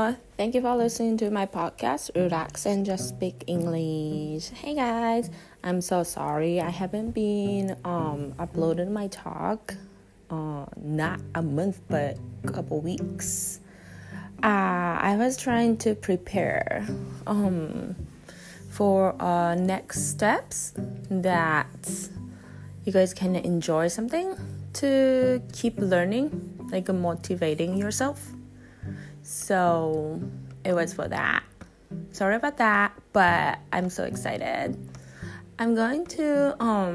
Thank you for listening to my podcast, Relax and Just Speak English. Hey guys, I'm so sorry I haven't been uploading my talk not a month but a couple weeks. I was trying to prepare for next steps that you guys can enjoy something to keep learning, like motivating yourself. So it was for that. Sorry about that, but I'm so excited. I'm going to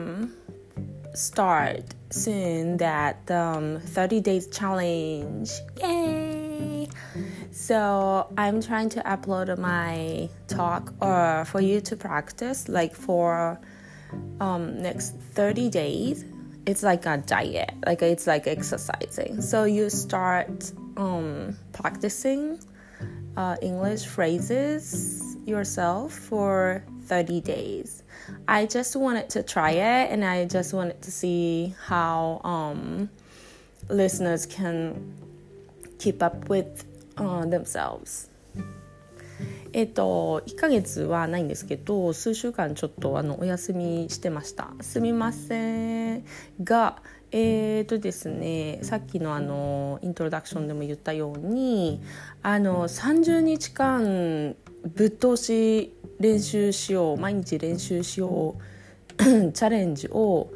start soon that 30 days challenge. Yay! So I'm trying to upload my talk or for you to practice like for next 30 days. It's like a diet, like it's like exercising. So you start practicing English phrases yourself for 30 days. I just wanted to try it, and I just wanted to see how listeners can keep up with themselves. 1ヶ月はないんですけど、数週間ちょっとお休みしてました。すみませんが、ですね、さっきのイントロダクションでも言ったように30日間ぶっ通し練習しよう、毎日練習しようチャレンジを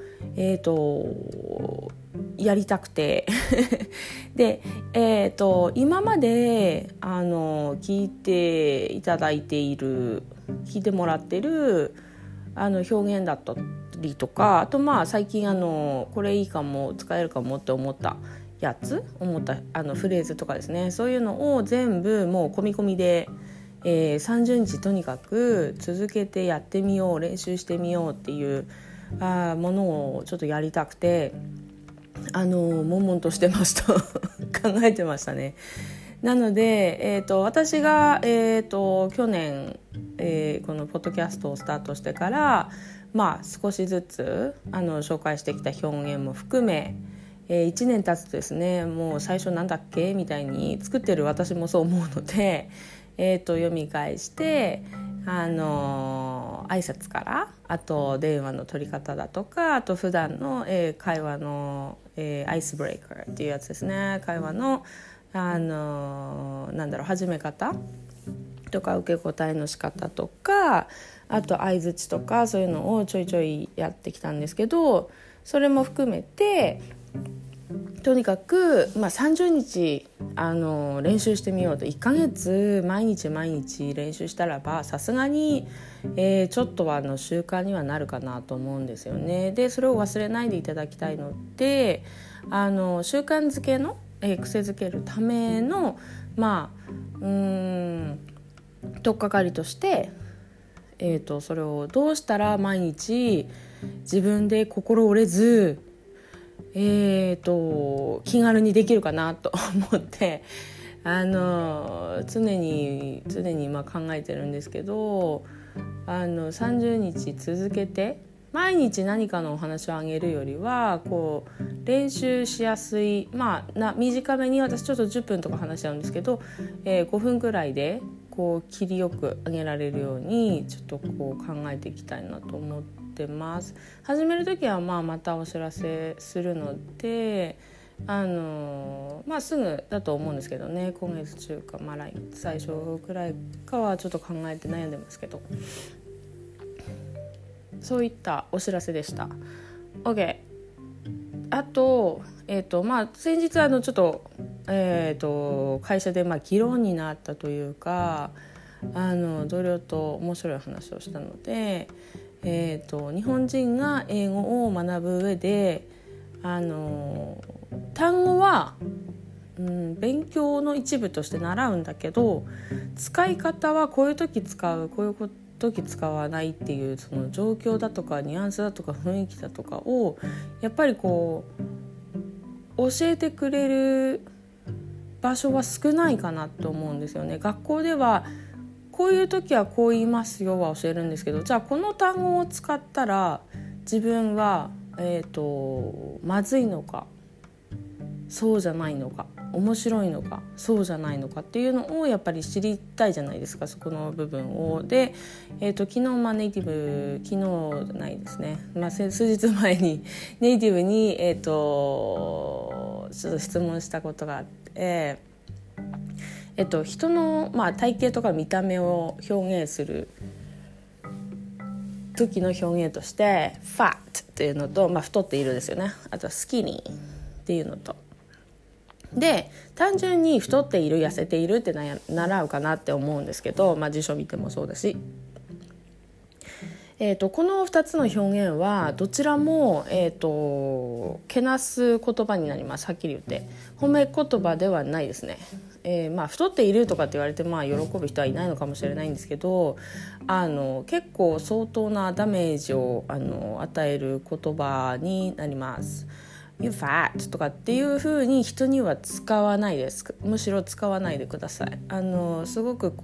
やりたくてで、今まで聞いていただいている、聞いてもらってる表現だったりとか、あと最近これいいかも、使えるかもって思ったやつ、思ったフレーズとかですね、そういうのを全部もう込み込みで、30日とにかく続けてやってみよう、練習してみようっていうものをちょっとやりたくて悶々としてました考えてましたね。なので、私が、去年、このポッドキャストをスタートしてから少しずつ紹介してきた表現も含め、1年経つとですね、もう最初なんだっけみたいに作ってる私もそう思うので、読み返して挨拶から、あと電話の取り方だとか、あと普段の、会話の、アイスブレイカーっていうやつですね。会話の始め方とか受け答えの仕方とか、あと相づちとか、そういうのをちょいちょいやってきたんですけど、それも含めてとにかく、30日練習してみようと。1ヶ月毎日練習したらばさすがに、ちょっとは習慣にはなるかなと思うんですよね。でそれを忘れないでいただきたいので、習慣づけの、癖づけるための取っかかりとして、それをどうしたら毎日自分で心折れず気軽にできるかなと思って常に考えてるんですけど、30日続けて毎日何かのお話をあげるよりは練習しやすい、短めに、私ちょっと10分とか話しちゃうんですけど、5分くらいで切りよくあげられるようにちょっと考えていきたいなと思ってます。始めるときはまたお知らせするので、すぐだと思うんですけどね、今月中か、最初くらいかはちょっと考えて悩んでますけど、そういったお知らせでした。 OK。 あと、先日ちょっと、会社で議論になったというか、同僚と面白い話をしたので、日本人が英語を学ぶ上で単語は、勉強の一部として習うんだけど、使い方はこういう時使う、こういう時使わないっていう、その状況だとかニュアンスだとか雰囲気だとかをやっぱり教えてくれる場所は少ないかなと思うんですよね。学校ではこういう時はこう言いますよは教えるんですけど、じゃあこの単語を使ったら自分は、まずいのかそうじゃないのか、面白いのか、そうじゃないのかっていうのをやっぱり知りたいじゃないですか、そこの部分を。で、昨日ネイティブ、昨日じゃないですね、数日前にネイティブに、ちょっと質問したことがあって、人の、体型とか見た目を表現する時の表現として fat っていうのと、太っているですよね。あとは skinny っていうのと、で単純に太っている痩せているって習うかなって思うんですけど、辞書見てもそうだし、この2つの表現はどちらも、けなす言葉になります。はっきり言って褒め言葉ではないですね。太っているとかって言われて喜ぶ人はいないのかもしれないんですけど、結構相当なダメージを与える言葉になります。You fat とかっていう風に人には使わないです。むしろ使わないでください。すごく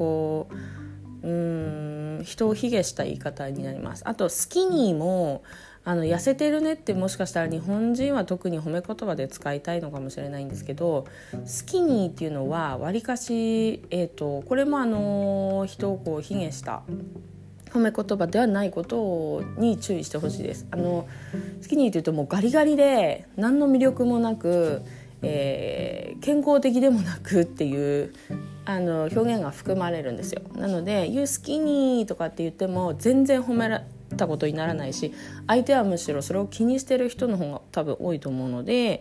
人を卑下した言い方になります。あとスキニーも痩せてるねってもしかしたら日本人は特に褒め言葉で使いたいのかもしれないんですけど、スキニーっていうのはわりかし、これも人を卑下した褒め言葉ではないことに注意してほしいです。スキニーというともうガリガリで何の魅力もなく、健康的でもなくっていう表現が含まれるんですよ。なので You skinny とかって言っても全然褒めたことにならないし、相手はむしろそれを気にしてる人の方が多分多いと思うので、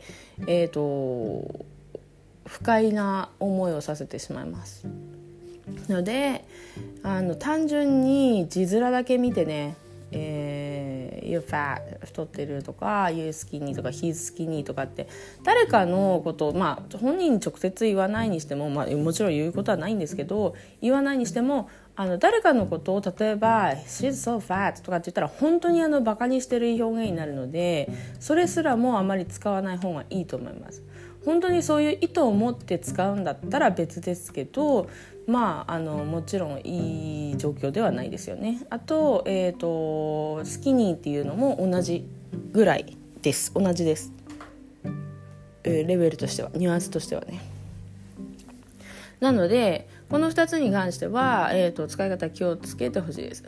不快な思いをさせてしまいますので、単純に字面だけ見てね、You're fat 太ってるとか You're skinny とか He's skinny とかって誰かのことを、本人に直接言わないにしても、もちろん言うことはないんですけど、言わないにしても誰かのことを例えば She's so fat とかって言ったら本当にバカにしてる表現になるので、それすらもあまり使わない方がいいと思います。本当にそういう意図を持って使うんだったら別ですけど、もちろんいい状況ではないですよね。あと、スキニーっていうのも同じぐらいです。同じです、レベルとしては、ニュアンスとしてはね。なのでこの2つに関しては、使い方気をつけてほしいです。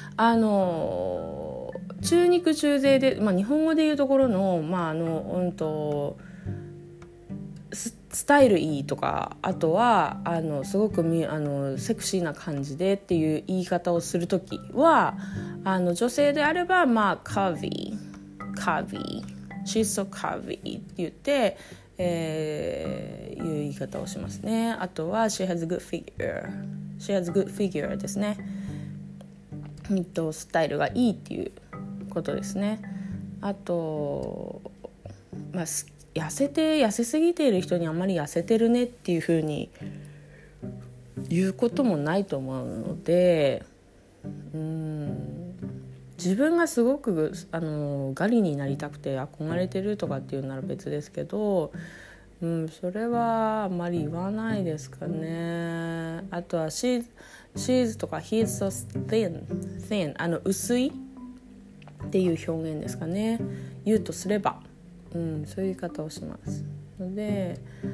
中肉中背で、日本語でいうところの、スタイルいいとか、あとはすごくセクシーな感じでっていう言い方をするときは、女性であればcurvy she's so curvy って言って、いう言い方をしますね。あとは she has a good figure ですね。スタイルがいいっていうことですね。あと痩せすぎている人にあまり痩せてるねっていう風に言うこともないと思うので、自分がすごくガリになりたくて憧れてるとかっていうなら別ですけど、それはあまり言わないですかね。あとは she's とか he's so thin 薄いっていう表現ですかね。言うとすればそういう言い方をしますので、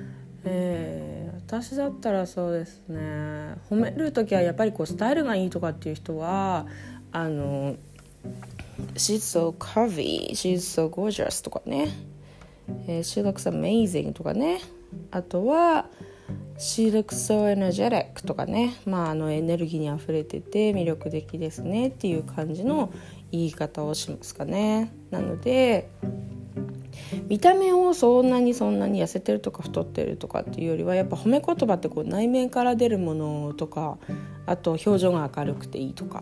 私だったらそうですね、褒めるときはやっぱりスタイルがいいとかっていう人はShe's so curvy, she's so gorgeous とかね、She looks amazing とかね、あとは She looks so energetic とかね、エネルギーにあふれてて魅力的ですねっていう感じの言い方をしますかね。なので見た目をそんなに痩せてるとか太ってるとかっていうよりは、やっぱ褒め言葉って内面から出るものとか、あと表情が明るくていいとか、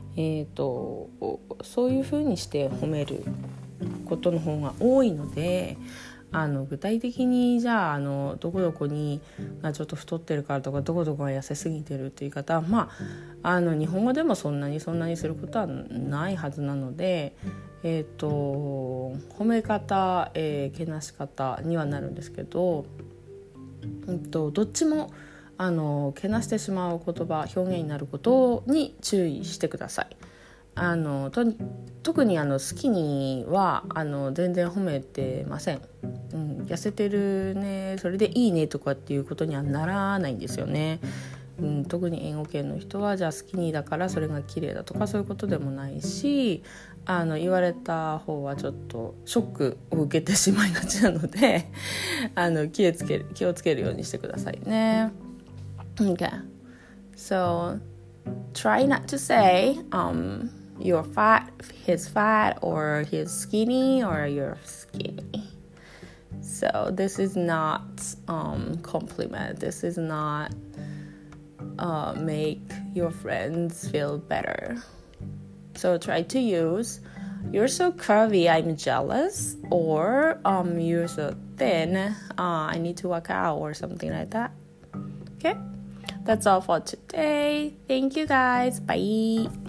そういう風にして褒めることの方が多いので、具体的にじゃあどこどこにちょっと太ってるからとか、どこどこが痩せすぎてるっていう方は日本語でもそんなにすることはないはずなので、褒め方、けなし方にはなるんですけど、どっちもけなしてしまう言葉、表現になることに注意してください。 特にスキニーは全然褒めてません、痩せてるねそれでいいねとかっていうことにはならないんですよね。特に英語圏の人はじゃあスキニーだからそれが綺麗だとかそういうことでもないし、言われた方はちょっとショックを受けてしまいがちなので気をつけるようにしてくださいね。 Okay, so try not to say you're fat, he's fat, or he's skinny, or you're skinny. So this is not compliment. This is not make your friends feel better. So try to use you're so curvy, I'm jealous, or you're so thin, I need to work out, or something like that. Okay, that's all for today. Thank you guys. Bye.